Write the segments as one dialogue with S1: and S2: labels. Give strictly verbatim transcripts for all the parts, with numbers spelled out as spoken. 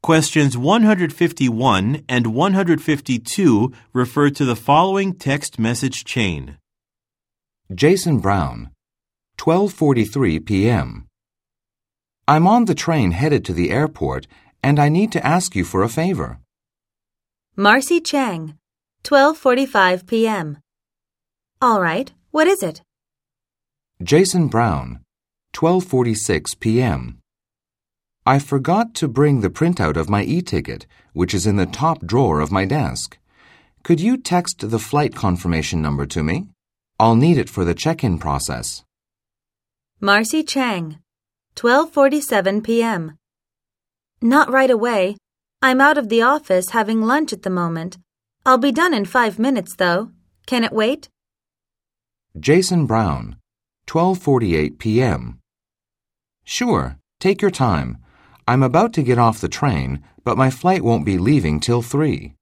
S1: Questions one hundred fifty-one and one hundred fifty-two refer to the following text message chain.
S2: Jason Brown, twelve forty-three p.m. I'm on the train headed to the airport, and I need to ask you for a favor.
S3: Marcy Chang, twelve forty-five p.m. All right, what is it?
S2: Jason Brown, twelve forty-six p.m. I forgot to bring the printout of my e-ticket, which is in the top drawer of my desk. Could you text the flight confirmation number to me? I'll need it for the check-in process.
S3: Marcy Chang, twelve forty-seven p.m. Not right away. I'm out of the office having lunch at the moment. I'll be done in five minutes, though. Can it wait?
S2: Jason Brown, twelve forty-eight p.m. Sure, take your time. I'm about to get off the train, but my flight won't be leaving till three.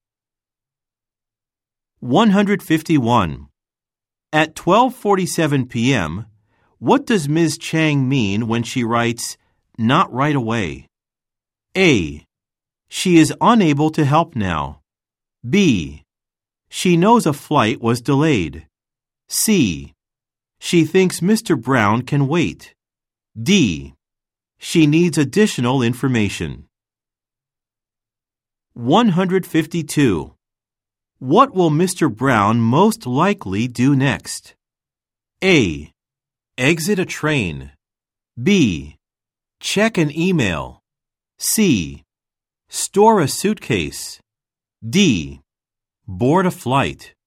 S1: one hundred fifty-one. At twelve forty-seven p.m., what does Miz Chang mean when she writes, "not right away"? A. She is unable to help now. B. She knows a flight was delayed. C. She thinks Mister Brown can wait. D. She needs additional information. one hundred fifty-two. What will Mister Brown most likely do next? A. Exit a train. B. Check an email. C. Store a suitcase. D. Board a flight.